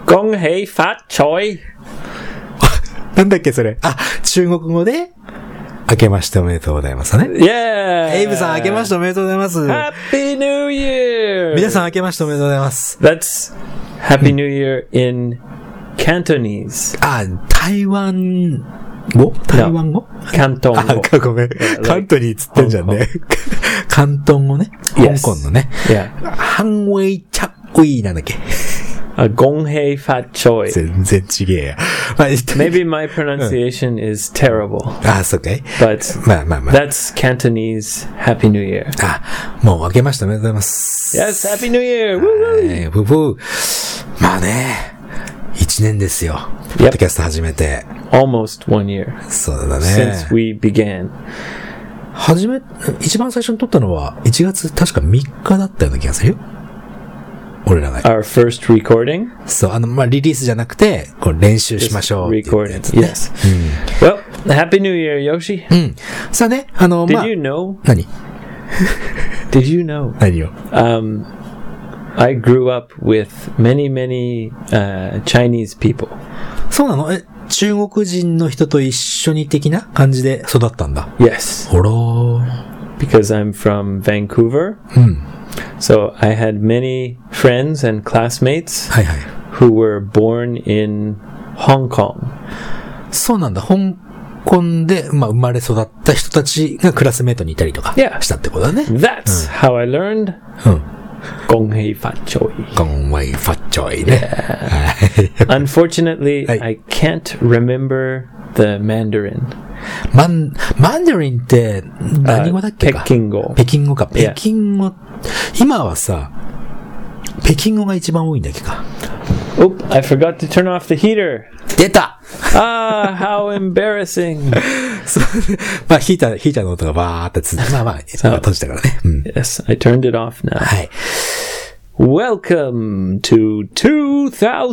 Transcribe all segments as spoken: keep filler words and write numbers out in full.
恭喜發財。 なんだっけそれ。あ、中国語で、明けましておめでとうございますね。 Yeah! エイブさん明けましておめでとうございます。 Happy New Year! 皆さん明けましておめでとうございます。 That's Happy New Year in Cantonese. あ、台湾語台湾語広東語。 あ、ごめん。関東につってんじゃんね。広東語ね。 Yes. 香港のね。 Yeah. ハンウェイチャッウィーなんだっけ。 Uh, 恭喜發財。 全然違えや。 Maybe my pronunciation is terrible. あ、そうかい。 But まあまあまあ。 that's Cantonese Happy New Year. あ、もう明けましておめでとうございます。 Yes, Happy New Year! はい、ブブー。まあね、一年ですよ。ポッドキャスト始めて。 Almost one year. そうだね。 Since we began. 始め、一番最初に撮ったのはいちがつ確かみっかだったような気がするよ。俺らが。 Our first recording? そう、あの、まあ、リリースじゃなくて、こう練習しましょうっていうやつ、ね。 Recording, yes. うん、well, Happy New Year, Yoshi. うん。さあね、あの、 Did まあ。 you know? 何 Did you know? 何よ。 Um, I grew up with many, many, uh, Chinese people. そうなの？え、中国人の人と一緒に的な感じで育ったんだ。 Yes. ほらー。 Because I'm from Vancouver. うん。 So I had many friends and classmates はいはい。 who were born in Hong Kong. そうなんだ。香港で、まあ、生まれ育った人たちがクラスメートにいたりとかしたってことだね。 That's、うん、how I learned. うん。 恭喜發財。 恭喜發財ね。 Unfortunately, I can't remember the Mandarin. マン、マンダリンって何語だっけか、 北京語。 北京語か。北京語。今はさ、北京語が一番多いんだっけか。 Oop, I forgot to turn off the heater. 出たああ、how embarrassing. そうまあ、ヒーター、ヒーターの音がバーってつ、まあまあ、閉じたからね。うん、 Yes, I turned it off now. はい。 Welcome to twenty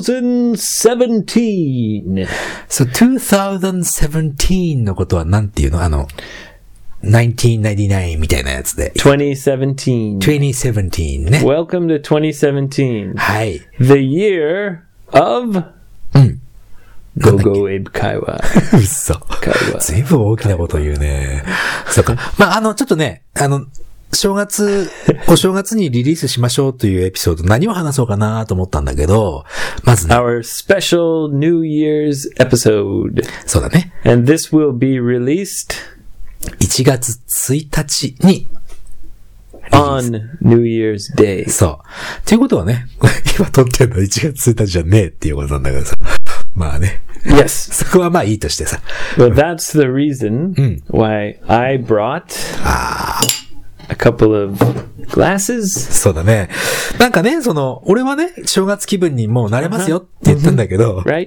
seventeen. So, twenty seventeen のことは何ていうのあの、nineteen ninety-nine みたいなやつで。 twenty seventeen. twenty seventeen ね。 Welcome to twenty seventeen. はい。 The year of うん。 Go Go Abe 会話。 嘘。ずいぶん大きなこと言うね。そうか。まあ、あの、ちょっとね、あの、正月、お正月にリリースしましょうというエピソード、何を話そうかなと思ったんだけど、まずね。 Our special New Year's episode. そうだね。 And this will be released いちがつついたちに on New Year's Day. そう。ということはね、今撮ってるのいちがつついたちじゃねえっていうことなんだけどさ。まあね。 Yes. そこはまあいいとしてさ。 Well, that's the reason why I brought a couple of glasses. そうだね。なんかね、その、俺はね、正月気分にもうなれますよって言ったんだけど。 Right?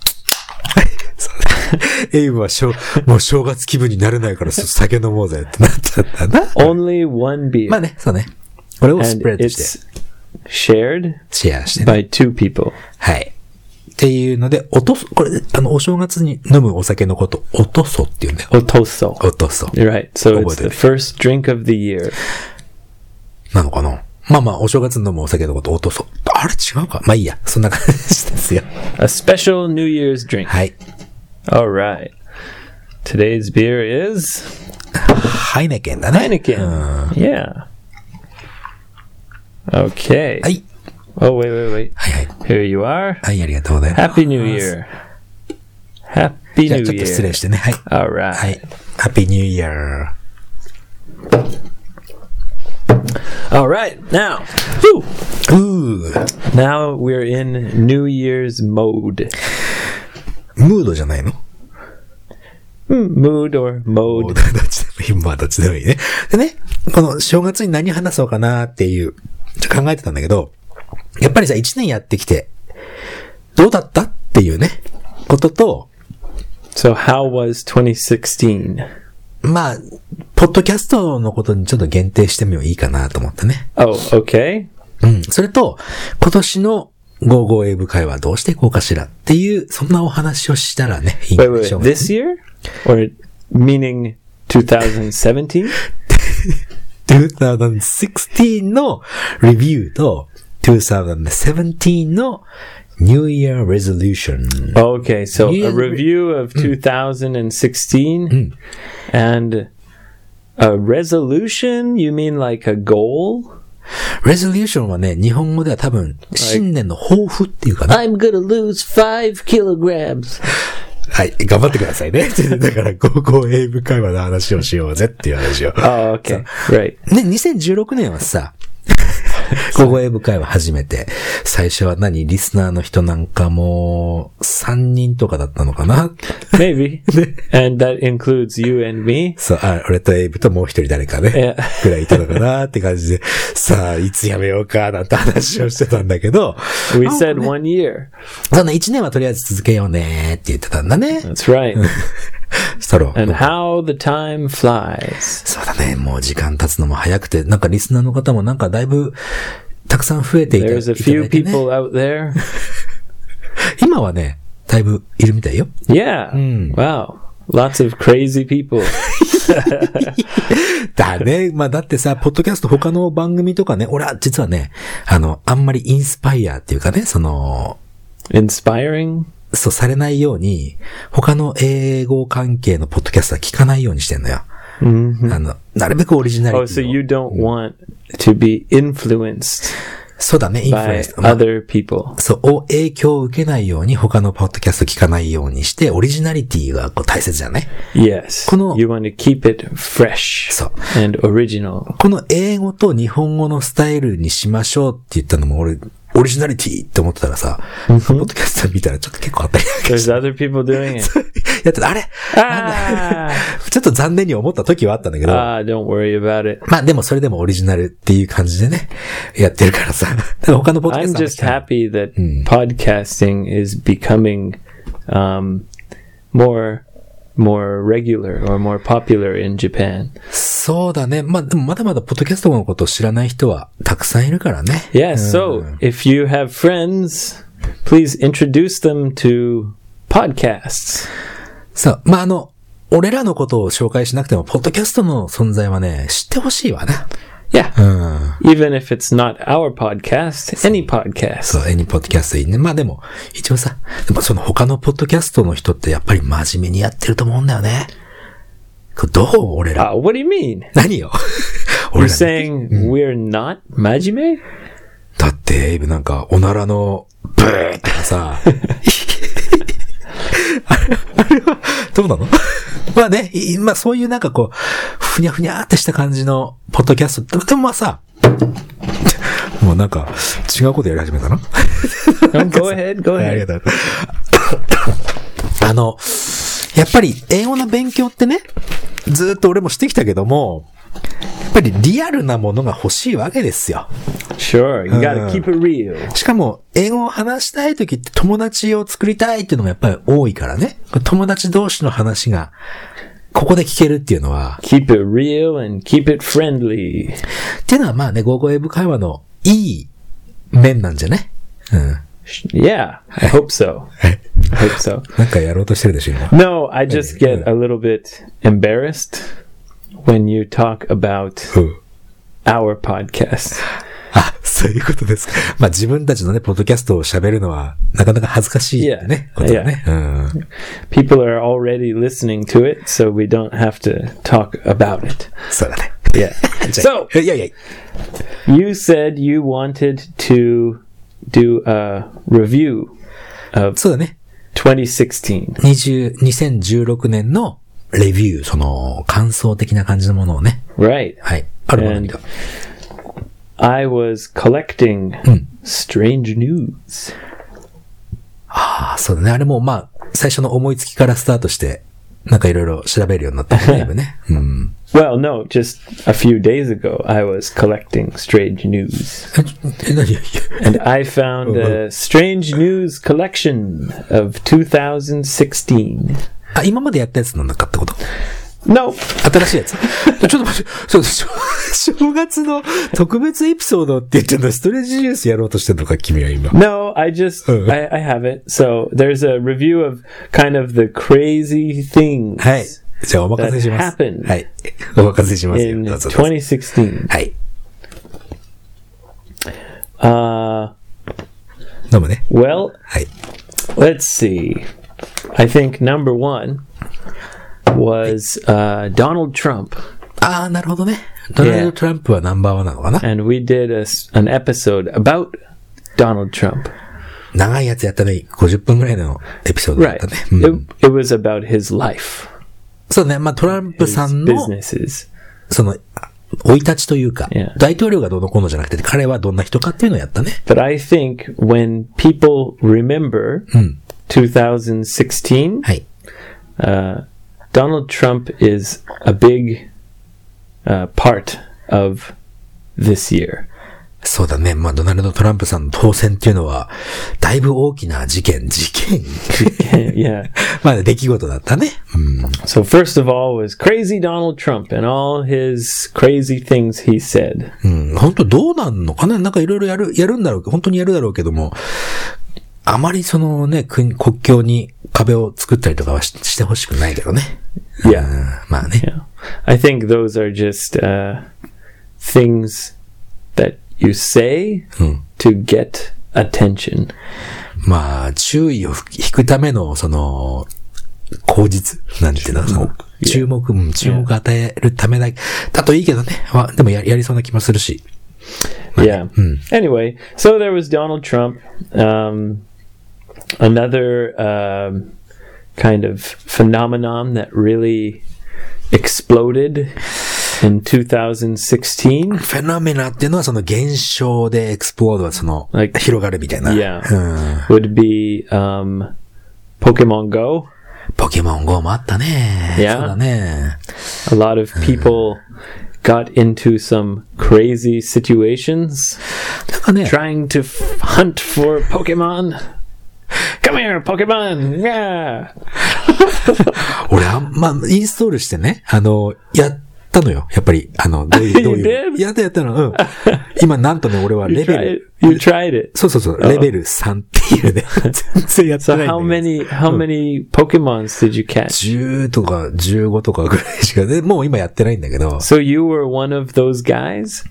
エイブはしょもう正月気分になれないから酒飲もうぜってなったんだな。 Only one beer. まあね、そうね。これをスプレッドして。 shared シェアして、ね。 by two people. はい。っていうので、おとそ、これ、あの、お正月に飲むお酒のこと、おとそって言うんだよ。 おとそ。 おとそ。 Right. So it's the first drink of the year. なのかなまあまあ、お正月に飲むお酒のこと、おとそ。あれ違うかまあいいや。そんな感じですよ。 A special New Year's drink. はい。 Alright. Today's beer is? ハイネケンだね。 Heineken. Yeah. Okay. はい。 Oh, wait, wait, wait. はいはい。 Here you are. はい、ありがとうございます。 Happy New Year. Happy New Year. じゃあちょっと失礼してね。はい。 Alright. はい。Happy New Year. Alright. Now. Woo. Now we're in New Year's mode. ムードじゃないの ？Mood or mode. どっちでもいい。まあどっちでもいいね。でね、この正月に何話そうかなっていう、ちょっと考えてたんだけど、やっぱりさ、一年やってきて、どうだったっていうね、ことと、 So how was twenty sixteen? まあ、ポッドキャストのことにちょっと限定してもいいかなと思ってね。 Oh, okay. うん。それと、今年のゴーゴーエイブ会はどうしていこうかしらっていう、そんなお話をしたらね、いいんでしょうね。 Wait, wait, this year? Or meaning twenty seventeen? twenty sixteen のレビューと、twenty seventeen の New Year Resolution. Okay, so New a review of two thousand sixteen and a resolution, you mean like a goal? Resolution はね、日本語では多分、新年の抱負っていうかな。 I'm gonna lose five kilograms. はい、頑張ってくださいね。だから、高校英語会話の話をしようぜっていう話を。 Oh, okay. Right. ね、にせんじゅうろくねんはさ、高校英語会話初めて、最初は何リスナーの人なんかもう、さんにんとかだったのかな Maybe. And that includes you and me. そう、あ、俺とエイブともう一人誰かね、ぐらいいたのかなって感じで、さあ、いつやめようかなんて話をしてたんだけど、 We said one year. そんないちねんはとりあえず続けようねって言ってたんだね。 That's right. ストロー。 And how the time flies. そうだね。もう時間経つのも早くて、なんかリスナーの方もなんかだいぶたくさん増えていただいて、ね。 There's a few people out there. 今はね、だいぶいるみたいよ。 Yeah. Wow. Lots of crazy people. だね。まあだってさ、ポッドキャスト他の番組とかね、俺は実はね、あの、あんまりインスパイアっていうかね、その、 Inspiring? そうされないように、他の英語関係のポッドキャストは聞かないようにしてんのよ。 Mm-hmm. あの、なるべくオリジナリティを。 Oh, so you don't want to be influenced そうだね、インフルエン by ス。まあ other people. そう、影響を受けないように他のポッドキャスト聞かないようにして、オリジナリティがこう大切じゃない？ Yes. この、 You want to keep it fresh そう。 and original. この英語と日本語のスタイルにしましょうって言ったのも俺、オリジナリティって思ってたらさ、ポッドキャスト見たらちょっと結構あったりなんかして。 There's other people doing it. やってた、あれあちょっと残念に思った時はあったんだけど。 あ、don't worry about it. まあでもそれでもオリジナルっていう感じでね、やってるからさ。だから他のポッドキャ I'm スト just happy that podcasting is becoming um, more more regular or more popular in Japan. そうだね。まあでもまだまだポッドキャストのことを知らない人はたくさんいるからね。 Yeah, so if you have friends, please introduce them to podcasts. そう。まああの、俺らのことを紹介しなくても、ポッドキャストの存在はね、知ってほしいわな。 Yeah. うん。 Even if it's not our podcast, any podcast. そう、any podcast いいね。まあでも、一応さ、でもその他のポッドキャストの人ってやっぱり真面目にやってると思うんだよね。これどう俺ら。 Uh, what do you mean? 何よ You're 俺ら、ね、 saying we're not majime? だって、エイブなんか、おならの、ブーとかさ、あれ、あれは、どうなのまあね、まあそういうなんかこう、ふにゃふにゃーってした感じの、ポッドキャスト。でもまあさ、もうなんか、違うことやり始めたな。 Go ahead, go あり ahead. がとう。あの、やっぱり英語の勉強ってね、ずーっと俺もしてきたけども、やっぱりリアルなものが欲しいわけですよ。 Sure, you gotta keep it real. しかも、英語を話したいときって友達を作りたいっていうのがやっぱり多いからね。友達同士の話が、ここで聞けるっていうのは。 Keep it real and keep it friendly. っていうのはまあね、ゴーゴー英語会話のいい面なんじゃね。うん。 Yeah, I hope so. I hope so. なんかやろうとしてるでしょ、今。 No, I just get a little bit embarrassed when you talk about our podcast. あ、そういうことですか。まあ自分たちのね、ポッドキャストを喋るのは、なかなか恥ずかしいね。 Yeah. ことだね。うん。 People are already listening to it, so we don't have to talk about it. そうだね。 Yeah. So, いやいや。 you said you wanted to do a review of そうだね。 twenty sixteen. にせんじゅうろくねんのレビュー、その感想的な感じのものをね。 Right. はい。あるものに And I was collecting strange news. ああ、そうだね。あれもまあ、最初の思いつきからスタートして、なんかいろいろ調べるようになったね。ね。うん。 Well, no, just a few days ago, I was collecting strange news. え、何 And I found a strange news collection of twenty sixteen. あ、今までやったやつの中ってこと No. 新しいやつちょっと待って、そうでしょ。正月の特別エピソードって言ってんの、ストレージニュースやろうとしてんのか、君は今。 No, I just, I, I have it. So there's a review of kind of the crazy things はい。じゃあお任せします。 that happened はい。お任せしますよ。 in どうぞどうぞ twenty sixteen. はい。 Uh, 飲むね。 Well, はい。 let's see. I think number one was uh, Donald Trump. ああ、なるほどね。ドナルド・トランプはナンバーワンなのかな。 And we did a, an episode about Donald Trump. 長いやつやったね。ごじゅっぷんぐらいのエピソードだったね。 Right. うん、it, it was about his life. そうね。まあトランプさんの、その、生い立ちというか、yeah. 大統領がどうのこうのじゃなくて、彼はどんな人かっていうのをやったね。 But I think when people remember、うん、twenty sixteen, はい。 Uh, Donald Trump is a big、uh, part of this year. そうだね。まあ、ドナルド・トランプさんの当選っていうのは、だいぶ大きな事件、事件 yeah. まあ、出来事だったね。うん、 so first of all was crazy Donald Trump and all his crazy things he said. うん、本当どうなんのかな、なんかいろいろやる、やるんだろう、本当にやるだろうけども、あまりそのね、国境に壁を作ったりとかは し, してほしくないけどね。 いや、 まあね。 Yeah. I think those are just、uh, things that you say、うん、to get attention. まあ、注意を引くための、その、口実なんていうの、その、注目、うん、注目を与えるためだ、だといいけどね。まあ、でも や, やりそうな気もするし。 まあ、yeah. うん、Anyway, so there was Donald Trump. Um, another um, kind of phenomenon that really exploded in twenty sixteen. フェノメナっていうのはその現象でエクスプロードはその、like, 広がるみたいな。 Yeah. うん、would be um, Pokemon Go. ポケモン Go もあったね。 Yeah. そうだね。 A lot of people got into some crazy situations. なんかね、 trying to f- hunt for Pokemon. Come here, Pokemon! Yeah! 俺あんま、インストールしてね、あの、やったのよ。やっぱり、あの、どういう、どういう。やったやったの。うん。今なんとね、俺はレベル。 You tried it? そうそうそう。レベルさんっていうね。全然やってないんだよ。 So how many, how many Pokemons did you catch? じゅうとかじゅうごとかぐらいしか、でもう今やってないんだけど。 So you were one of those guys?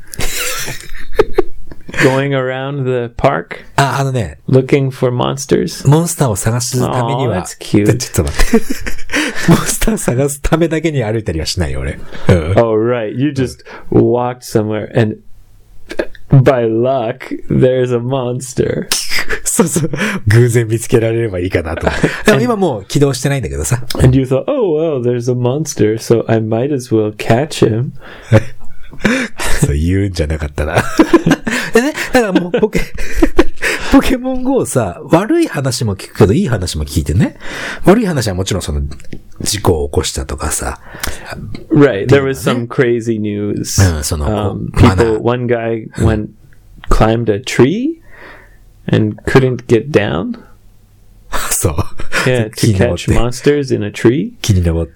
Going around the park? あ、あのね。 Looking for monsters? モンスターを探すためには。 Oh, that's cute. ちょっと待って。モンスターを探すためだけに歩いたりはしないよ、俺。 Oh, right. You just walked somewhere and by luck, there's a monster. そうそう。偶然見つけられればいいかなと。でも今もう起動してないんだけどさ。 And you thought, oh, well, there's a monster, so I might as well catch him. そう言うんじゃなかったな。でね、だからもうポケ、ポケモン ゴー さ、悪い話も聞くけどいい話も聞いてね。悪い話はもちろんその事故を起こしたとかさ。 Right, there was some crazy news. うん、その、 um, people, one guy went, climbed a tree and couldn't get down. そう。 Yeah, to catch monsters in a tree. 木に登って。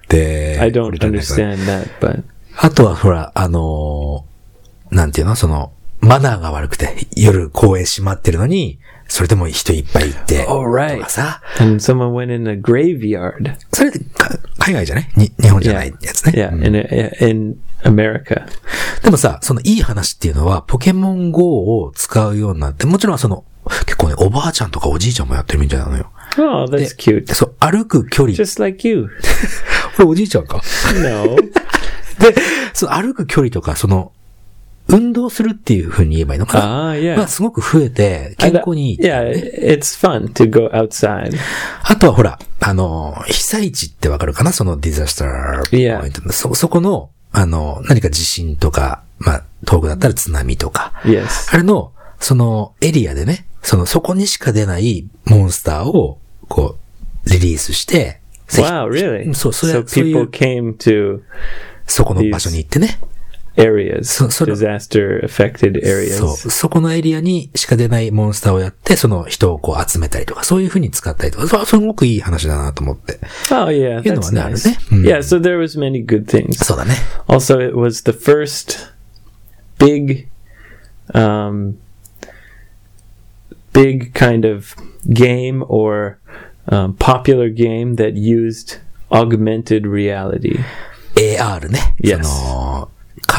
I don't understand that, but. あとはほら、あのー、なんていうのその、マナーが悪くて、夜公園閉まってるのに、それでも人いっぱいいて。 Oh, right. とかさ。 And someone went in a graveyard. それって海外じゃないに日本じゃないやつね。 Yeah, yeah、うん、in, in America. でもさ、そのいい話っていうのは、ポケモン ゴー を使うようになって、もちろんその、結構ね、おばあちゃんとかおじいちゃんもやってるみたいなのよ。 Oh, that's cute. そう、歩く距離。 Just like you. これおじいちゃんか ?No. で、その歩く距離とか、その、運動するっていう風に言えばいいのかな。 ああ、yeah. まあ、すごく増えて、健康にいい、 ね。Yeah, it's fun to go outside. あとはほら、あの、被災地ってわかるかなそのディザスターポイント。Yeah. そ、そこの、あの、何か地震とか、まあ、東北だったら津波とか。 Yes. あれの、そのエリアでね、その、そこにしか出ないモンスターを、こう、リリースして、 Wow, really? そう、それ、 so people came to そこの場所に行ってね。 areas, disaster affected areas. そう、そこのエリアにしか出ないモンスターをやって、その人をこう集めたりとか、そういう風に使ったりとか、そう、すごくいい話だなと思って。 Oh yeah, that's nice. ねうん、yeah, so there was many good things. そうだね。 Also, it was the first big, um, big kind of game or um, popular game that used augmented reality. エーアール ね。 Yes. その仮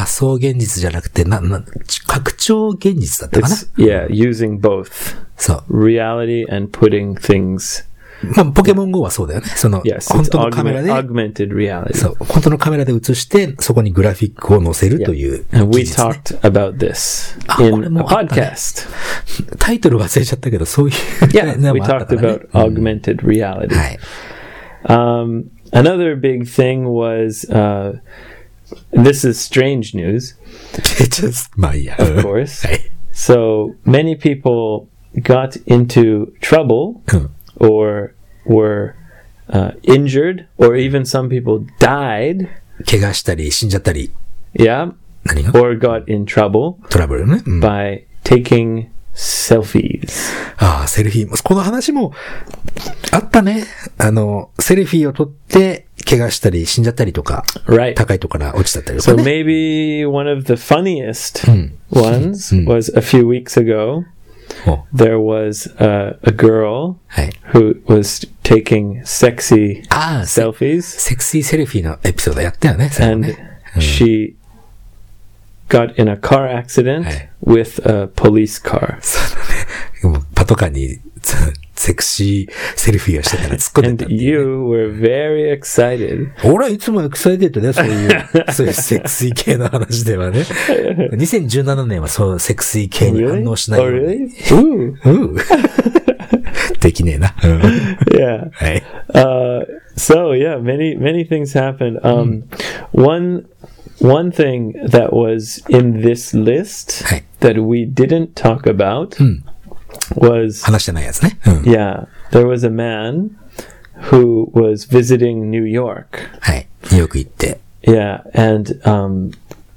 仮想現実じゃなくて、な、な、拡張現実だったかな Yeah, using both. そう。 reality and putting things. まあ、ポケモン ゴー はそうだよね。その、 yes, 本当のカメラで、 augmented reality. そう。本当のカメラで映して、そこにグラフィックを載せるという、 yeah. And we talked about this in a podcast. タイトル忘れちゃったけど、そういう。 Yeah, we talked about augmented reality. はい。 Um, another big thing was, uh, this is strange news. Just, まあいいや。 Of course. はい。So, many people got into trouble or were uh, injured or even some people died. 怪我したり死んじゃったり。 Yeah. 何が or got in trouble トラブルね。うん、 by taking selfies. ああ、セルフィー。この話もあったね。あの、セルフィーを撮って怪我したり死んじゃったりとか、 right. 高いところから落ちちゃったりとか、ね。 So maybe one of the funniest、うん、ones、うん、was a few weeks ago. There was a, a girl、はい、who was taking sexy ああ selfies. セクシーセルフィーのエピソードやったよね。 And ね、 うん、she got in a car accident、はい、with a police car. そうだね。パトカーにセクシーセルフィーをしてたら突っ込んでた。 And you were very excited. 俺はいつもエクサイテッドね、そういう、そういうセクシー系の話ではね。にせんじゅうななねんはそうセクシー系に反応しないように。 Really? Oh, really? できねえな。 yeah. はい。 Uh, so yeah, many, many things happened. Um, one, one thing that was in this list、はい、that we didn't talk about、うんwas 話してないやつね。 うん、yeah, there was a man who was visiting New York. はい、ニューヨーク行って。 Yeah, and um,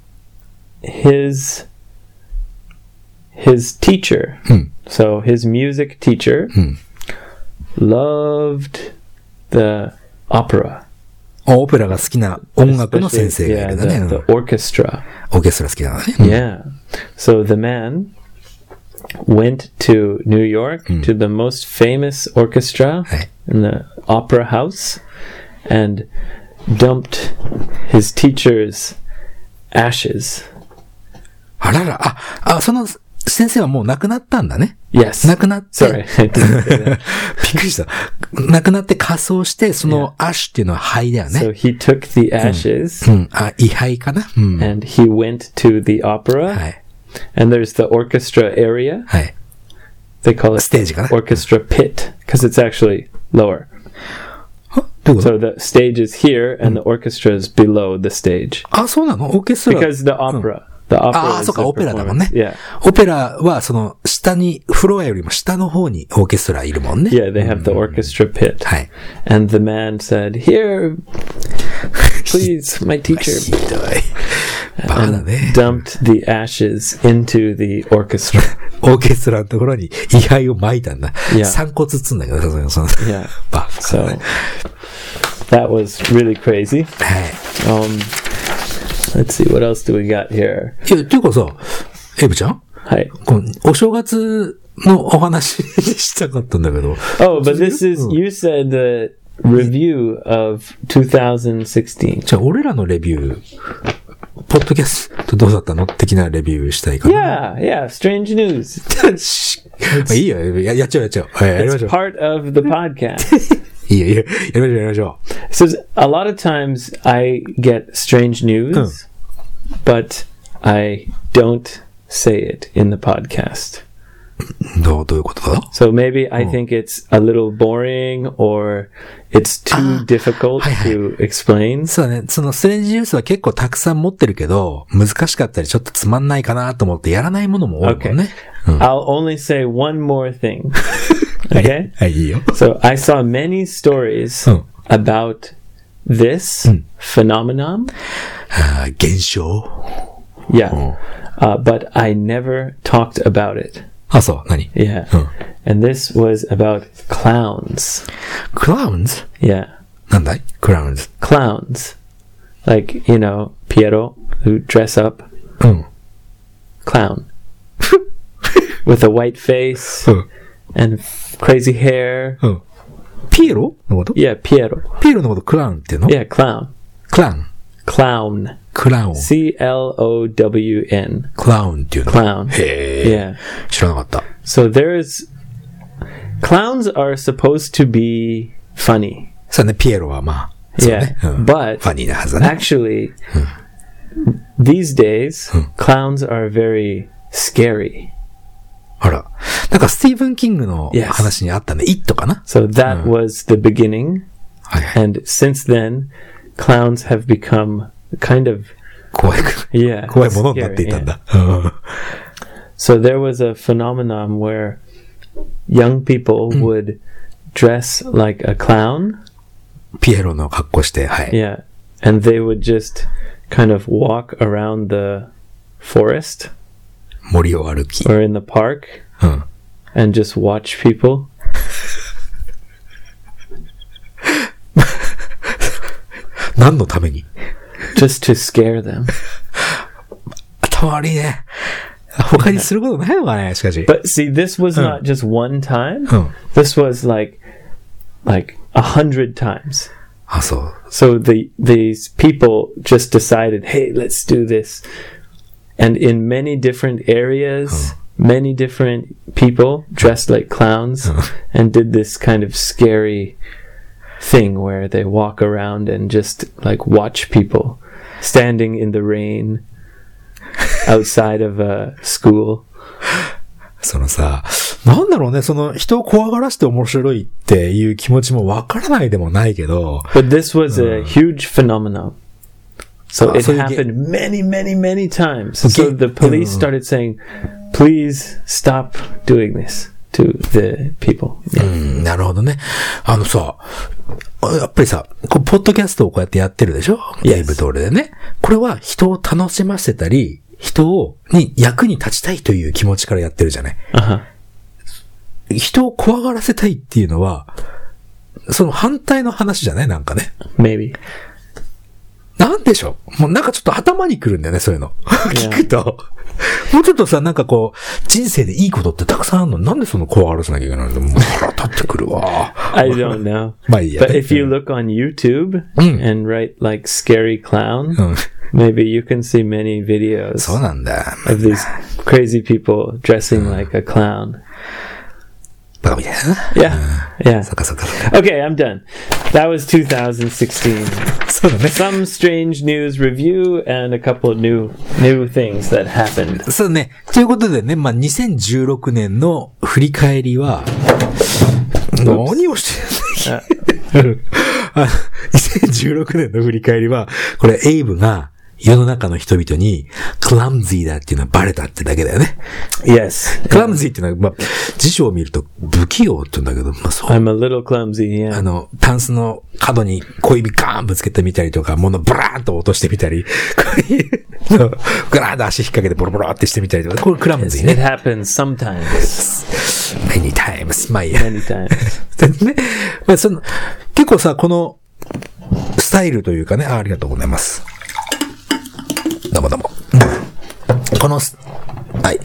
his his teacher, うん、 so his music teacher, うん、 loved the opera. オペラが好きな音楽の先生がいるんだね。 Yeah, the, the orchestra. オーケストラ好きなのね。 Yeah, so the man went to New York、うん、to the most famous orchestra、はい、in the opera house and dumped his teacher's ashes. あらら、あ、あ、その先生はもう亡くなったんだね。 Yes. 亡くなって。 Sorry. びっくりした。亡くなって火葬して、そのアッシュっていうのは灰だよね。 So he took the ashes、 うんうん、あ、位牌かな、うん、 and he went to the opera、はい、and there's the orchestra area、 はい、 they call it ステージかな orchestra pit because it's actually lower. So the stage is here and、うん、the orchestra is below the stage. あ、そうなの？オーケストラ。 Because the opera、うん、the opera ああ、そうか、オペラだもんね。 Yeah. オペラは、その、下に、フロアよりも下の方にオーケストラいるもんね。 Yeah, they have the orchestra pit. はい。 And the man said, Here, please, my teacher. ひどい。バカだね。 dumped the ashes into the orchestra. オーケストラのところに位牌を撒いたんだ。 Yeah. 散骨つんだけど、その、 yeah. バカだね。 So, that was really crazy. はい。 Um, let's see, what else do we got here? いや、ていうかさ、エイブちゃん？ はい。 このお正月のお話したかったんだけど。 Oh, but this is, you said the review of twenty sixteen. じゃあ、俺らのレビュー、ポッドキャストどうだったの的なレビューしたいかな。Yeah, yeah, strange news. いいよ、や、やっちゃうやっちゃう。やりましょう。 It's part of the podcast. いいよ、いいよ、やりましょう、やりましょう。 So, a lot of times I get strange news, but I don't say it in the podcast. どう、どういうことだ? So maybe I think it's a little boring or it's too difficult to explain. そうだね。そのストレンジニュースは結構たくさん持ってるけど、難しかったりちょっとつまんないかなと思ってやらないものも多いもんね。 Okay. I'll only say one more thing. Okay? はい、いいよ。 So I saw many stories about this phenomenon. 現象? Yeah. Uh, but I never talked about it. あ、そう、何? Yeah. And this was about clowns. Clowns? Yeah. なんだい? Clowns. Clowns. Like, you know, Piero, who dress up. うん。 Clown. With a white face and crazy hair. うん。ピエロのこと? Yeah, Piero. ピエロのことクラウンっていうの? Yeah, clown. クラウン. clown. クラウン。 C L O W N. クラウンっていうの。 Clown. へー。Yeah. 知らなかった。 So there's, clowns are supposed to be funny. そうね、ピエロはまあ。そうね。 Yeah. うん、 But ファニーなはずだね。 actually, these days, clowns are very scary. あら。なんかスティーブン・キングの話にあったね。Yes. It かな So that、うん、was the beginning. はいはい。 And since then, clowns have become kind of 怖い。 Yeah. 怖いものになっていたんだ。 Yeah. So there was a phenomenon where young people would dress like a clown. ピエロの格好して、はい。 Yeah. And they would just kind of walk around the forest. 森を歩き。 Or in the park. うん。 And just watch people. 何のために Just to scare them. 頭悪いね。他にすることないのかね、しかし。 But see, this was not just one time. うん。 This was like, like a hundred times. あ、そう。 So the these people just decided, hey, let's do this. And in many different areas, many different people dressed like clowns and did this kind of scary thing where they walk around and just like watch people standing in the rain outside of a school. そのさ、なんだろうね、その人を怖がらせて面白いっていう気持ちもわからないでもないけど。 But this was a huge phenomenon. So it happened many, many, many times. So the police started saying, please stop doing this to the people. うん、なるほどね。あのさ、やっぱりさ、こうポッドキャストをこうやってやってるでしょ？ゲイブトールでね。これは人を楽しませたり、人を、に役に立ちたいという気持ちからやってるじゃない。 Uh-huh. 人を怖がらせたいっていうのは、その反対の話じゃないなんかね。 Maybe. なんでしょうもうなんかちょっと頭にくるんだよね、そういうの。聞くと。もうちょっとさ、なんかこう、人生でいいことってたくさんあるの。なんでその怖がらせなきゃいけないの？もう腹立ってくるわ。 I don't know. まあいいや、ね。 But if you look on YouTube、うん、and write like scary clown,、うん、maybe you can see many videos そうなんだ。 of these crazy people dressing like a clown. バカみたいな。 Yeah. Yeah. そっかそっか。 Okay, I'm done. That was twenty sixteen. そうだね。 Some strange news review and a couple of new, new things that happened. そうね。ということでね、まあ、にせんじゅうろくねんの振り返りは、何をしてるんだにせんじゅうろくねんの振り返りは、これエイブが世の中の人々にクラムズィーだっていうのはバレたってだけだよね。 Yes. クラムズィーっていうのは、まあ、辞書を見ると不器用って言うんだけど、まあそう。 I'm a little clumsy, yeah. あの、タンスの角に小指ガーンぶつけてみたりとか、物ブラーンと落としてみたり、こういうの、グラーンと足引っ掛けてボロボロってしてみたりとか、これクラムズィーね。 It happens sometimes. Many times. まあいいや。 Many times. ね。まあその、結構さ、この、スタイルというかね、あ、ありがとうございます。どうもどうも。この、はい、はい。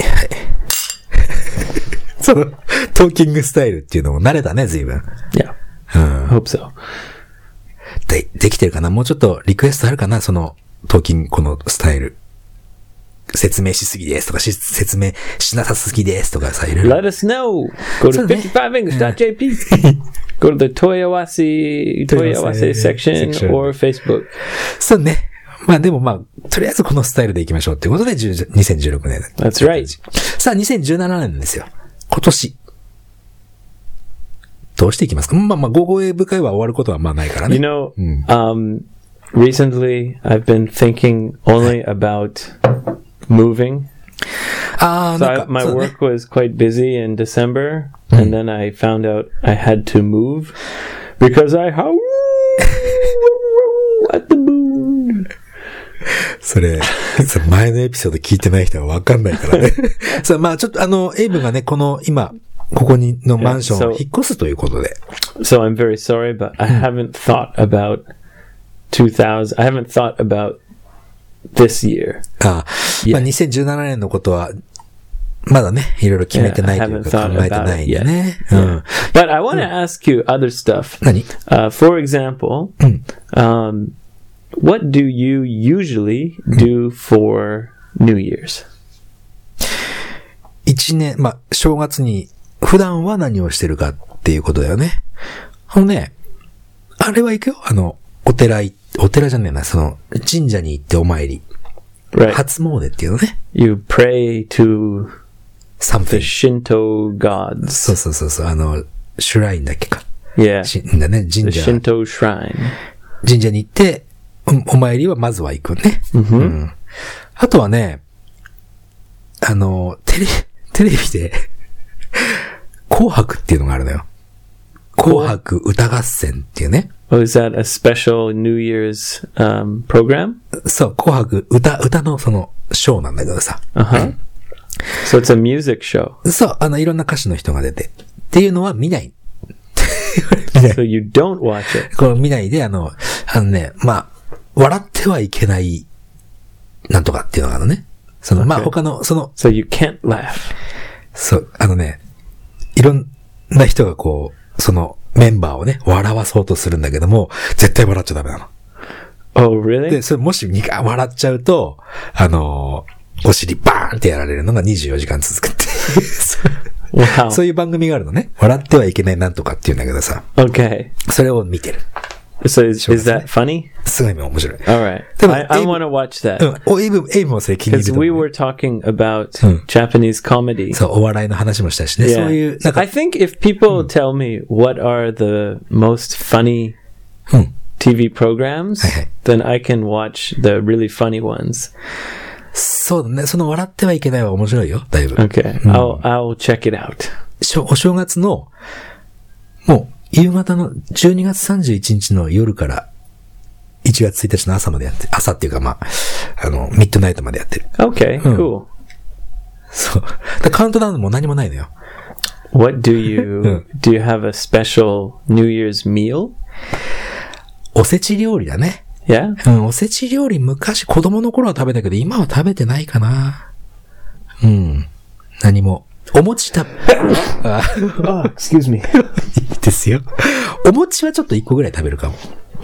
その、トーキングスタイルっていうのも慣れたね、随分。 Yeah. うん。 Hope so. で、できてるかな？もうちょっとリクエストあるかな？その、トーキング、このスタイル。説明しすぎですとか、説明しなさすぎですとかさ、いろいろ。 Let us know! Go to fifty-five english dot j p. Go to the Toyawasi, Toyawasi section or Facebook. そうね。まあでもまあ、とりあえずこのスタイルでいきましょうっていうことで、にせんじゅうろくねん。 That's right. さあ、にせんじゅうななねんですよ。今年。どうしていきますか？まあまあ、ゴーゴーエイブ会は終わることはまあないからね。 You know,、うん、um, recently I've been thinking only about moving. Ah, so I, my work was quite busy in December, mm. and then I found out I had to move because I howl at the moon. それ、前のエピソード聞いてない人はわかんないからね。さあ、まあちょっとあの、エイブがね、この今、ここにのマンションを引っ越すということで。 So I'm very sorry, but I haven't thought about two thousand, I haven't thought about this year. ああ、まあにせんじゅうななねんのことは、まだね、いろいろ決めてないというか考えてないんでね。うん。 But I want to ask you other stuff. 何? Uh, for example, um, what do you usually do for New Year's? 一年、まあ、正月に普段は何をしてるかっていうことだよね。あのね、あれは行くよ。あの、お寺い、お寺じゃねえな、その、神社に行ってお参り。 Right. 初詣っていうのね。 You pray to something. the Shinto gods. そうそうそうそう、あの、シュラインだっけか。 Yeah. しだね、神 The 社。 Shinto shrine. 神社に行って、お参りはまずは行くね。 Mm-hmm. うん。あとはね、あの、テレ、テレビで、紅白っていうのがあるのよ。紅白歌合戦っていうね。 Oh, is that a special New Year's um, program? そう、紅白歌、歌のその、ショーなんだけどさ。 Uh-huh. So it's a music show. そう、あの、いろんな歌手の人が出て。っていうのは見ない。 So you don't watch it. これ見ないで、あの、あのね、まあ、笑ってはいけない、なんとかっていうのがあるのね。その、okay. まあ他の、その、 So you can't laugh. そう、あのね、いろんな人がこう、そのメンバーをね、笑わそうとするんだけども、絶対笑っちゃダメなの。 Oh, really? で、それもしにか笑っちゃうと、あのー、お尻バーンってやられるのがにじゅうよじかん続くっていう。wow. そういう番組があるのね。笑ってはいけないなんとかっていうんだけどさ。 Okay. それを見てる。 So is, is that funny? すごい面白い。 Alright. I, I want to watch that. うん。お、エイブ、エイブもそれ気に入ると思う。 Because we were talking about、うん、Japanese comedy. そう、お笑いの話もしたしね。Yeah. そういう、なんか。 I think if people、うん、tell me what are the most funny、うん、ティーブイ programs, はいはい、then I can watch the really funny ones. そうだね。その笑ってはいけないは面白いよ。だいぶ。 Okay. うん、I'll, I'll check it out. お正月の、もう、夕方のじゅうにがつさんじゅういちにちの夜からいちがつついたちの朝までやってる。朝っていうかまあ、あの、ミッドナイトまでやってる。 Okay, うん、 cool. そう。だカウントダウンも何もないのよ。 What do you, do you have a special New Year's meal? おせち料理だね。 Yeah? うん、おせち料理昔子供の頃は食べたけど今は食べてないかな。うん。何も。お餅た、 あ、oh, excuse me. いいですよ。お餅はちょっといっこぐらい食べるかも。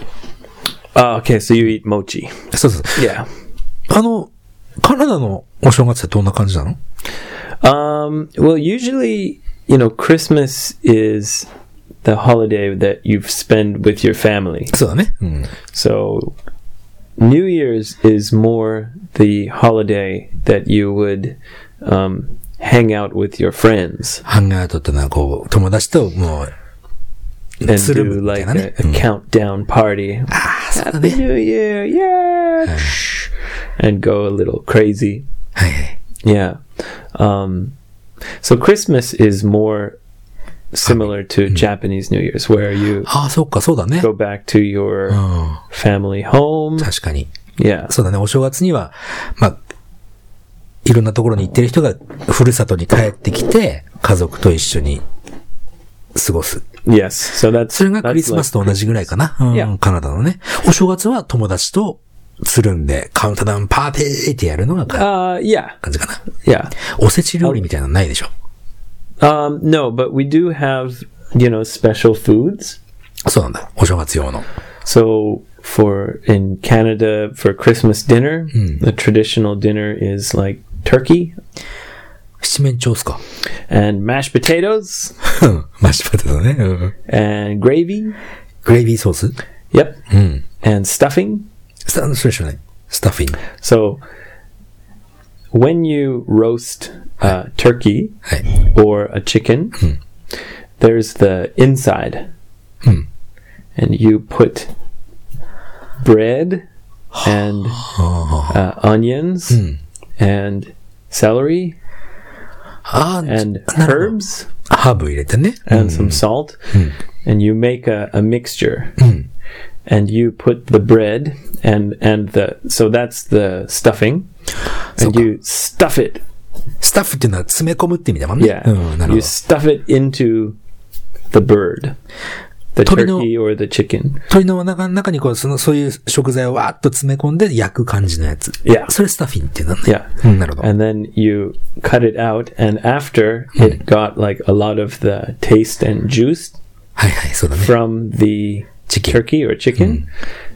Ah, okay, so you eat mochi. そうそう。 Yeah. あの、カナダのお正月ってどんな感じなの？ Um, well, usually, you know, Christmas is the holiday that you spend with your family. そうだね。うん。 So, New Year's is more the holiday that you would, um, hang out with your friends. ハングアウトってのはこう、友達ともう、 and do like a, a countdown party. Happy New Year, yeah! And go a little crazy. Yeah. Um, so Christmas is more similar to Japanese New Year's, where you go back to your family home. 確かに。 Yeah. そうだね。お正月には、まあ、いろんなところに行ってる人がふるさとに帰ってきて、家族と一緒に過ごす。 Yes. So that's, それがクリスマスと同じぐらいかな。うん、yeah. カナダのね。お正月は友達とつるんで、カウントダウンパーティーってやるのが、 uh, yeah. 感じかな。 Yeah. おせち料理みたいなのないでしょ。 Um, no, but we do have, you know, special foods. そうなんだ。お正月用の。 So, for, in Canada, for Christmas dinner, mm. the traditional dinner is like turkey. 七面鳥っすか and mashed potatoes. マッシュポテトね。 and gravy. グレイビーソース Yep. うん。 and stuffing. スタ、それ知らない。スタッフィング。 So, when you roast uh, turkey はい。 or a chicken, うん。 there's the inside. うん。 And you put bread and uh, onions うん。 and celery あー and herbs ハーブ入れてね。 and some salt うん。 and you make a, a mixture うん。 and you put the bread and and the so that's the stuffing and you stuff it スタッフっていうのは詰め込むって意味だもんね。 yeah うん、なるほ you ど。 stuff it into the bird the turkey or the chicken 鳥の中の中にこう、その、そういう食材をわーっと詰め込んで焼く感じのやつ。 Yeah それスタッフィンっていうんだね。 yeah うん、なるほど。 and then you cut it out and after it got like a lot of the taste and juice はいはい、そうだね。 from the Chicken. turkey or chicken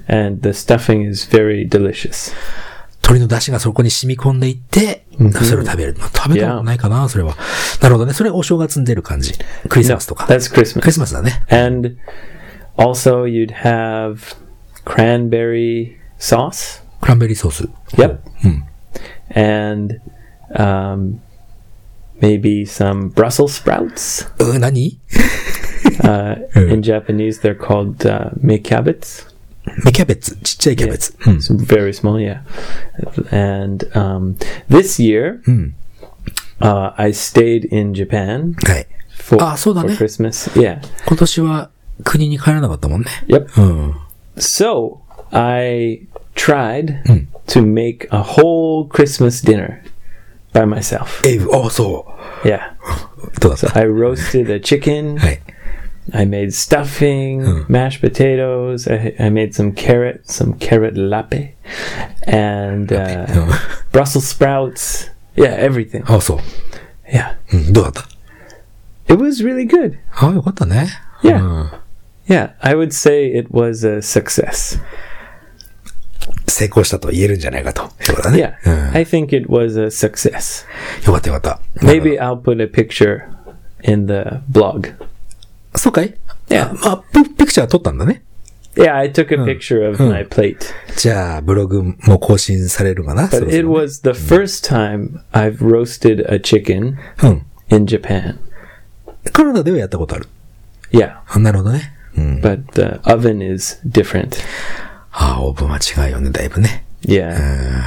and the stuffing is very delicious. 鶏の出汁がそこに染み込んでいって、mm-hmm. それを食べる。食べたことないかな、それは。なるほどね。それお正月に出る感じ。クリスマスとか。 No, that's Christmas. クリスマスだね。 And also you'd have cranberry sauce. クランベリーソース。 Yep. うん。 And um, maybe some Brussels sprouts. う、何 uh, in Japanese, they're called uh, mekabets. 芽キャベツ、ちっちゃいキャベツ。 Yeah. うん、so very small, yeah. And um, this year, うん、 uh, I stayed in Japan はい。 for, あ、そうだね。 for Christmas. Yeah. 今年は国に帰らなかったもんね。 Yep. うん、 so, I tried うん、 to make a whole Christmas dinner by myself. え、あ、そう。 Yeah. どうだった So I roasted a chicken. はい。 I made stuffing, hmm. mashed potatoes. I, I made some carrot, some carrot lape, and uh, Brussels sprouts. Yeah, everything. あ、そう。 Yeah. うん、どうだった It was really good. あ、よかったね。 Yeah. うん、 yeah, I would say it was a success. 成功したと言えるんじゃないかと。そうだね。 Yeah, うん、I think it was a success. よかったよかった。 Maybe I'll put a picture in the blog. そうかい Yeah. まあ、ピクチャー撮ったんだね。 Yeah, I took a picture of my plate. じゃあ、ブログも更新されるかな But it was the first time I've roasted a chicken in Japan. カナダではやったことある Yeah. なるほどね。うん、 But the oven is different. ああ、オーブンは違うよね、だいぶね。 Yeah.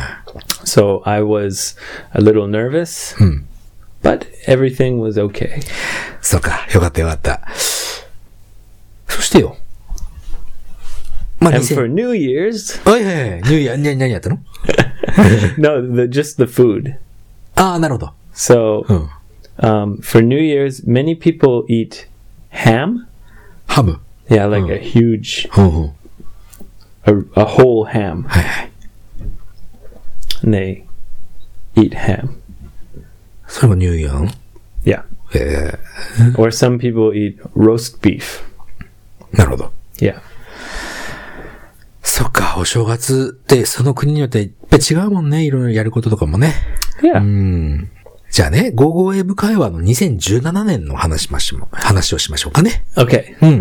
So I was a little nervous, but everything was okay. そうか、よかったよかった。そしてよ。 まあ、And for New Year's... はいはいはい。ニューイヤー、何やったの No, the, just the food. ああ、なるほど。 So, um, for New Year's, many people eat ham. ハム Yeah, like a huge... A, a whole ham. はいはい。 And they eat ham. それもニューイヤー Yeah. えー、Or some people eat roast beef. なるほど。 Yeah. そっか、お正月ってその国によっていっぱい違うもんね。いろいろやることとかもね。 Yeah. うん。じゃあね、ゴーゴーエブ会話のにせんじゅうななねんの話しましょう。話をしましょうかね。 Okay. うん。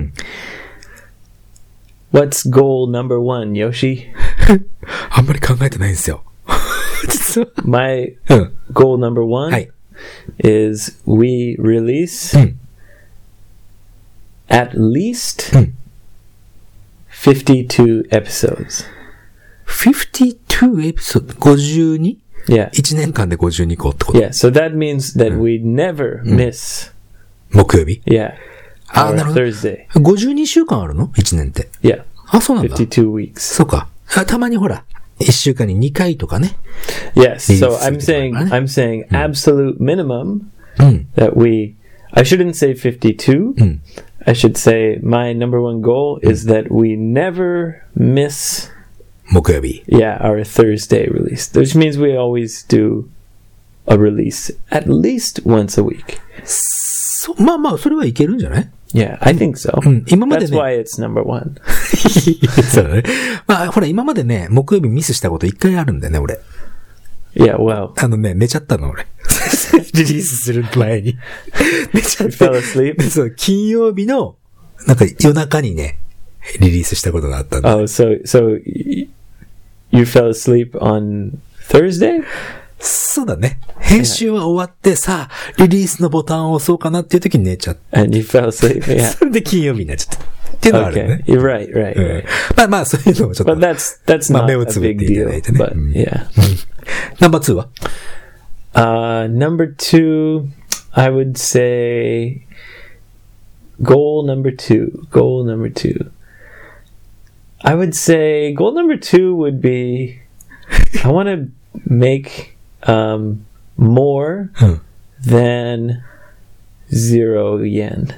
What's goal number one, Yoshi? あんまり考えてないんですよ。実は。 My goal number one、はい、is we release、うん、at least、うん、fifty-two episodes. fifty-two episodes? ごじゅうに? Yeah. いちねんかんでごじゅうにこってこと Yeah, so that means that、うん、we never miss、 うん、木曜日 Yeah. あ、なるほど。 Thursday. ごじゅうにしゅうかんあるの ?いち 年って。 Yeah. あ、そうなんだ。 fifty-two weeks. そうか。たまにほら、いっしゅうかんににかいとかね。 Yes, so I'm saying, I'm saying absolute minimum、 うん、 that we, I shouldn't say fifty-two、うん、I should say my number one goal、うん、is that we never miss 木曜日。 Yeah, our Thursday release. Which means we always do a release at least once a week. そ、まあまあ、それはいけるんじゃない Yeah, I think so. うん、今までね。 That's why it's number one. そうだね。まあ、ほら、今までね、木曜日ミスしたこと一回あるんだよね、俺。 Yeah, well. あのね、寝ちゃったの、俺。リリースする前に。寝ちゃった。 You fell asleep? そう、金曜日の、なんか夜中にね、リリースしたことがあったんだ。 Oh, so, so, you fell asleep on Thursday? そうだね。編集は終わって、さあ、リリースのボタンを押そうかなっていう時に寝ちゃった。 And you fell asleep, yeah. それで金曜日になっちゃった。っていうのがあるね。 Okay, you're right, right, right. まあまあ、そういうのもちょっと。 But that's, that's not a big deal. But, yeah. ナンバーツーは Uh, number two, I would say, goal number two, goal number two. I would say goal number two would be, I want to make, um, more than zero yen.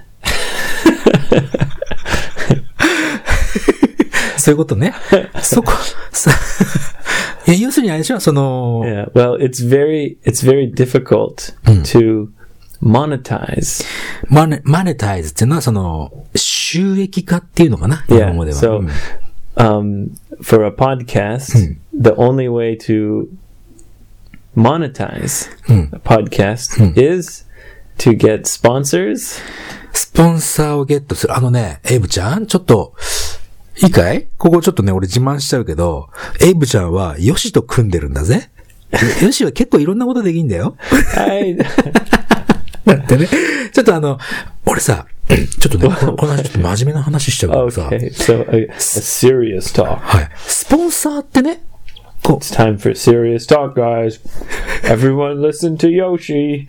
そういうことね。そこ、いや、要するにあれでしょ、その。 Yeah, well, it's very, it's very difficult、うん、to monetize. マネ、マネタイズっていうのは、その、収益化っていうのかな、日本語では。 Yeah, so,、うん um, for a podcast, Hmm. the only way to monetize Hmm. a podcast Hmm. is to get sponsors. スポンサーをゲットする。あのね、エイブちゃん、ちょっと、いいかい？ここちょっとね、俺自慢しちゃうけど、エイブちゃんはヨシと組んでるんだぜ。ヨシは結構いろんなことできんだよ。 I, だってね、ちょっとあの、俺さ、ちょっとね、このこの話ちょっと真面目な話しちゃうからさ。 okay, so a, a serious talk. はい。スポンサーってね、こう、 It's time for serious talk, guys. Everyone listen to Yoshi.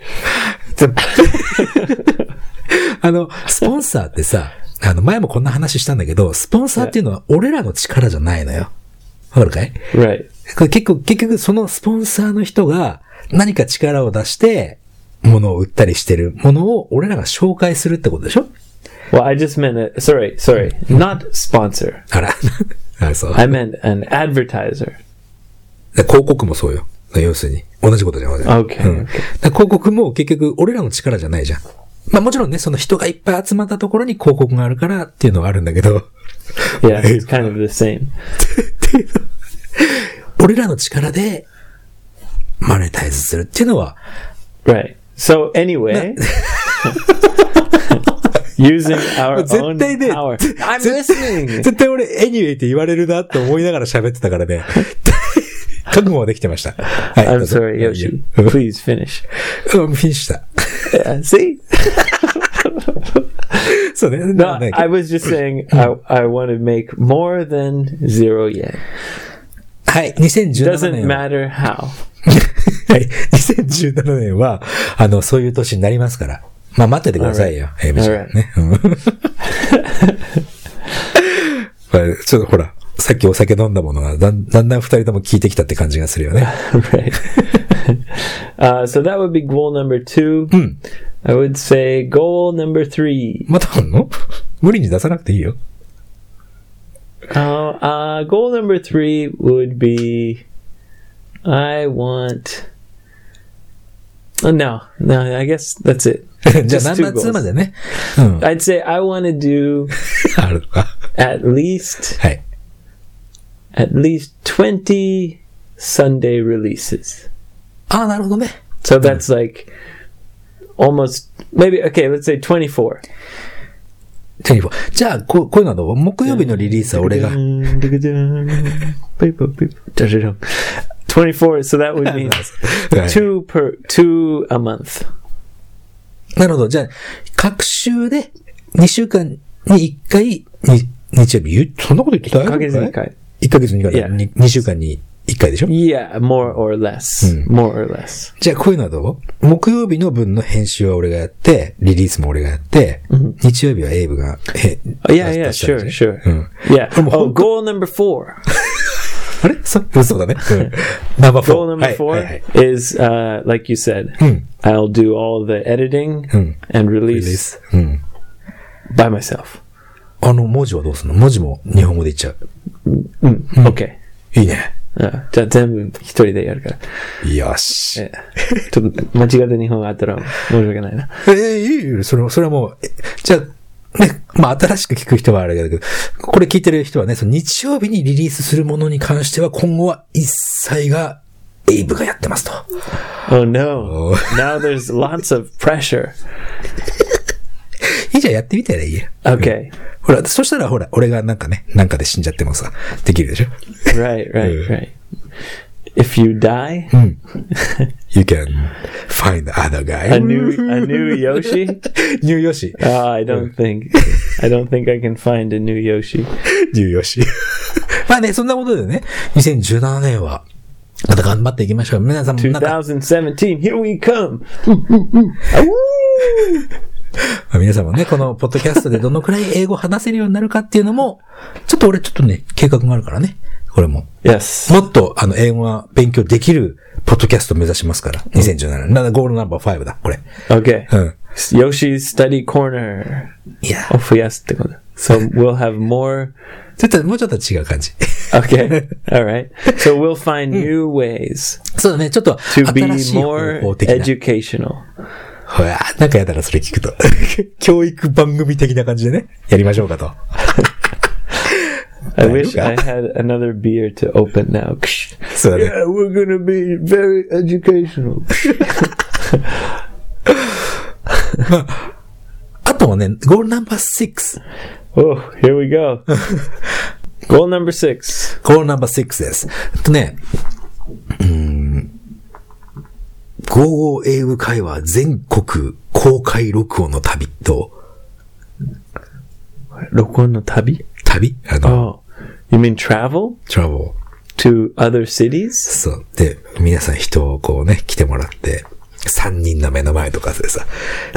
あの、スポンサーってさ、あの、前もこんな話したんだけど、スポンサーっていうのは俺らの力じゃないのよ。わかるかい？ Right. これ結構、結局そのスポンサーの人が何か力を出して、物を売ったりしてるものを俺らが紹介するってことでしょ？ Well, I just meant it. Sorry, sorry. Not sponsor. あら。あ、そう。 I meant an advertiser. 広告もそうよ。要するに。同じことじゃん。 Okay. うん、だ広告も結局俺らの力じゃないじゃん。まあもちろんね、その人がいっぱい集まったところに広告があるからっていうのはあるんだけど。 Yeah, it's kind of the same. 俺らの力でマネタイズするっていうのは。 Right. So anyway, using our own power. I'm listening. 絶対俺 anyway って言われるなって思いながら喋ってたからね。覚悟はできてました。はい、 I'm sorry, Yoshi. Please finish. うん、フィニッシュした。 Yeah, see? そうね。 No, I was just saying I, I want to make more than zero yen. はい、にせんじゅうななねん Doesn't matter how. はい、にせんじゅうななねんは、あの、そういう年になりますから。まあ、待っててくださいよ。エイブちゃんね。ちょっとほら、さっきお酒飲んだものがだんだんだん二人とも効いてきたって感じがするよね。 Right. uh, so that would be goal number two. うん。 I would say goal number three. またあんの？無理に出さなくていいよ。 Uh, uh, goal number three would be I want. Oh, no, no, I guess that's it. じゃあ、ナンバーツーまでね。うん。 I'd say I want to do あるか。 at least はい。 at least twenty Sunday releases. ああ、なるほどね。 So that's like almost maybe okay. Let's say twenty-four. じゃあ、こう、こういうのはどう？木曜日のリリースは俺が。 twenty-four, so that would mean two per, two a month. なるほど。じゃあ、各週でにしゅうかんにいっかい、に日曜日、そんなこと言ってた？いっかげつにいっかい。いっかげつにいっかい。に, にしゅうかんにいっかいでしょ？ Yeah, more or less.、うん、more or less. じゃあ、こういうのはどう？木曜日の分の編集は俺がやって、リリースも俺がやって、うん、日曜日はエイブが、 え、yeah, yeah, sure, sure. うん、yeah. Oh, goal number four. あれそ、そうだね。ナンバーフォー。 Goal number four、はいはい、is, uh, like you said,、うん、I'll do all the editing、うん、and release、うん、by myself. あの、文字はどうするの？文字も日本語で言っちゃう。 うん、うん、OK。 いいね。 あ、じゃあ全部一人でやるから。 よし。 えちょっと間違って日本語あったら申し訳ないな。 えー、いいよ。それ、それはもう、じゃあ、ね、まあ新しく聞く人はあれだけど、これ聞いてる人はね、その日曜日にリリースするものに関しては今後は一切がエイブがやってますと。 Oh no. Now there's lots of pressure. いいじゃん、やってみたらいいよ。 Okay. ほら、そしたらほら、俺がなんかね、なんかで死んじゃってもさ、できるでしょ。 Right, right, right. If you die, you can find other guy. A new, a new Yoshi? New Yoshi. Oh, I don't think, I don't think I can find a new Yoshi. New Yoshi. まあね、そんなことでね、にせんじゅうななねんは、また頑張っていきましょう。皆さんもなんか。 twenty seventeen, here we come! 皆さんもね、このポッドキャストでどのくらい英語を話せるようになるかっていうのも、ちょっと俺ちょっとね、計画があるからね。これも。 Yes. もっと、あの、英語が勉強できる、ポッドキャストを目指しますから。にせんじゅうななねん。なんだ、ゴールナンバーごだ、これ。 Okay. うん。 Yoshi's Study Corner. いや。 を増やすってこと。So we'll have more. ちょっと、もうちょっと違う感じ。 Okay. Alright. So we'll find new ways. そうだね、ちょっと、 to be more educational. ほら、なんかやだな、それ聞くと。教育番組的な感じでね、やりましょうかと。 I wish I had another beer to open now. Yeah, we're gonna be very educational. まあ、あとはね、ゴールナンバーシックス。 Oh, here we go. Goal number six. ゴールナンバーシックスです。えっとね、うーん、ゴーゴー英語会話全国公開録音の旅と、 録音の旅？ 旅あの、 oh, you mean travel? Travel. To other cities? そう。で、皆さん人をこうね、来てもらって、三人の目の前とかでさ、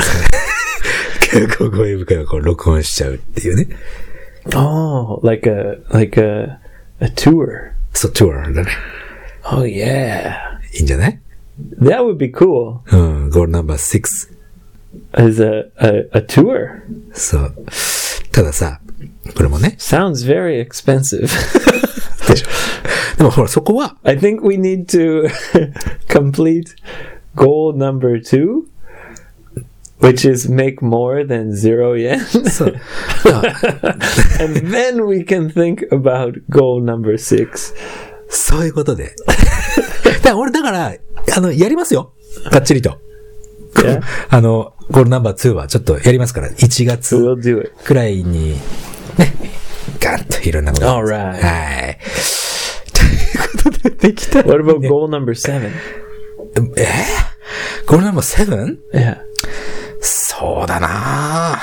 ゴーゴー英語会話こう録音しちゃうっていうね。 Oh, like a, like a, a tour. そう、トゥアだね。 Oh, yeah. いいんじゃない？ That would be cool. うん、ゴールナンバーシックス。 As a, a, a tour. そう。たださ、これもね。 Sounds very expensive. でしょ。でもほら、そこは。 I think we need to complete goal number two, which is make more than zero yen. そう。 And then we can think about goal number six. そういうことで。だから俺、だから、あの、やりますよ。がっちりと。 Yeah. あの、ゴールナンバーツーはちょっとやりますから、いちがつくらいに、ね、ガンといろんなこと。 Alright. はい。ということでできた、ね。 What about goal number seven? えー、ゴールナンバーセブン? Yeah. そうだな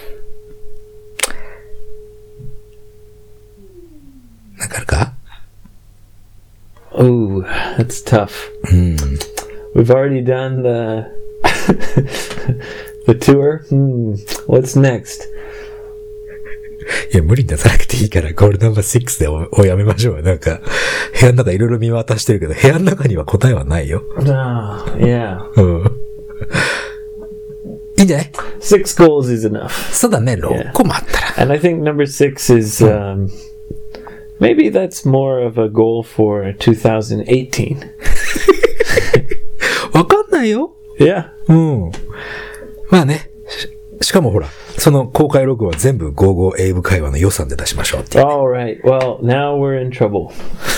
ぁ。なんかあるか? Oh, that's tough. うん。 We've already done the the tour. Hmm. What's next? いや、無理に出さなくていいから、ゴールナンバーシックスで お, おやめましょう。なんか、部屋の中いろいろ見渡してるけど、部屋の中には答えはないよ。 Oh, yeah. うん。いいんじゃない？ Six goals is enough. そうだね、ろっこもあったら。 And I think number six is, um, maybe that's more of a goal for twenty eighteen. わかんないよ。 Yeah. うん。まあね。し, しかもほら、その公開録音は全部ゴーゴー英語会話の予算で出しましょうっていう、ね。 Alright. Well, now we're in trouble.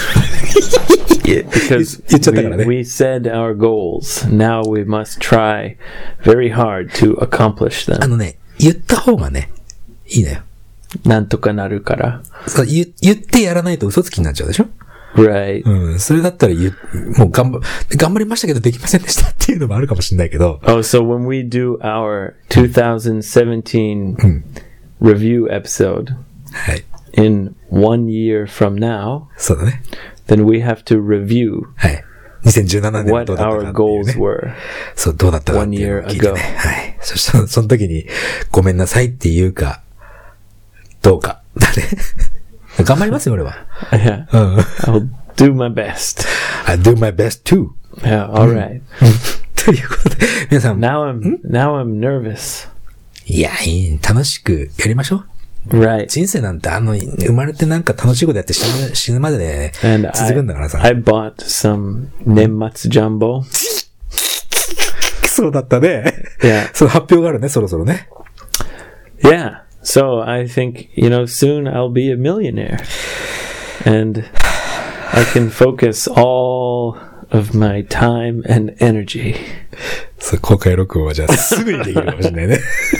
Because we, we said our goals. Now we must try very hard to accomplish them. あのね、言った方がね、いいのよ。 なんとかなるから。 そう言、言ってやらないと嘘つきになっちゃうでしょ？ Right. うん。それだったら言う、もう頑張、頑張りましたけどできませんでしたっていうのもあるかもしれないけど。 Oh, so when we do our twenty seventeen、うん、review episode、 はい、 in one year from now、 そうだね。 then we have to review、 はい、にせんじゅうななねんどうだったかっていう、ね。 what our goals were。 そう、どうだったかっていうのを聞いてね。はい。そしたら、その時に、ごめんなさいっていうか、どうか。だね。頑張りますよ、俺は。 Yeah. うん。 I'll do my best. I'll do my best too. Yeah, alright. ということで、皆さん。 Now I'm, now I'm nervous. いや、いい。楽しくやりましょう。 Right. 人生なんて、あの、生まれてなんか楽しいことやって死ぬ、死ぬまでね、続くんだからさ。 I, I bought some 年末ジャンボ。 そうだったね。 Yeah. その発表があるね、そろそろね。 Yeah. So I think, you know, soon I'll be a millionaire. And I can focus all of my time and energy. そう、公開録音はじゃあすぐにできるかもしれないね。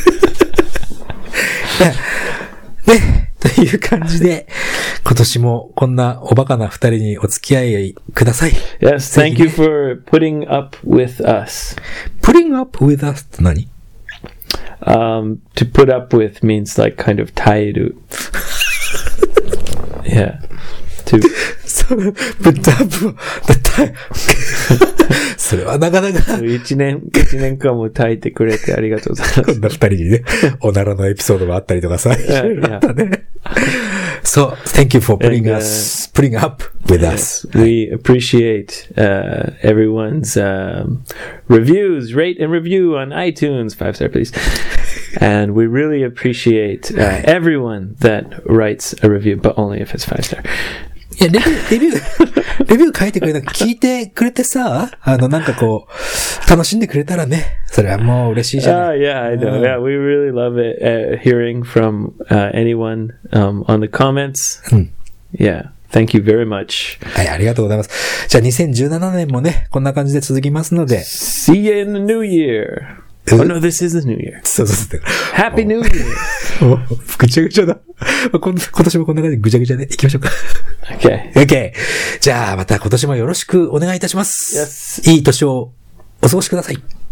ね、という感じで、今年もこんなおバカな二人にお付き合いください。 Yes, thank you for putting up with us. Putting up with us って何 ？Um, to put up with means like kind of 耐える。Yeah. To それ、put up それはなかなか一年、一年間も耐えてくれてありがとうございます。 こんな二人にね、おならのエピソードもあったりとかさ、いろいろあったね。So, thank you for putting And, uh, us, putting up with us. We appreciate uh, everyone's um, reviews, rate and review on iTunes, five star please. And we really appreciate uh, everyone that writes a review, but only if it's five star. いや、レビュー、レビュー、レビュー書いてくれた、聞いてくれてさ、あの、なんかこう、楽しんでくれたらね、それはもう嬉しいじゃない。 Uh, yeah, I know. Yeah, we really love it, uh, hearing from uh, anyone um, on the comments. Yeah. Thank you very much. はい、ありがとうございます。じゃあにせんじゅうななねんもね、こんな感じで続きますので。 See you in the new year.Oh no, this is the new year. そうそうそう。 Happy New Year! ぐちゃぐちゃだ。今年もこんな感じでぐちゃぐちゃでいきましょうか。 Okay. Okay. じゃあまた今年もよろしくお願いいたします。 Yes. いい年をお過ごしください。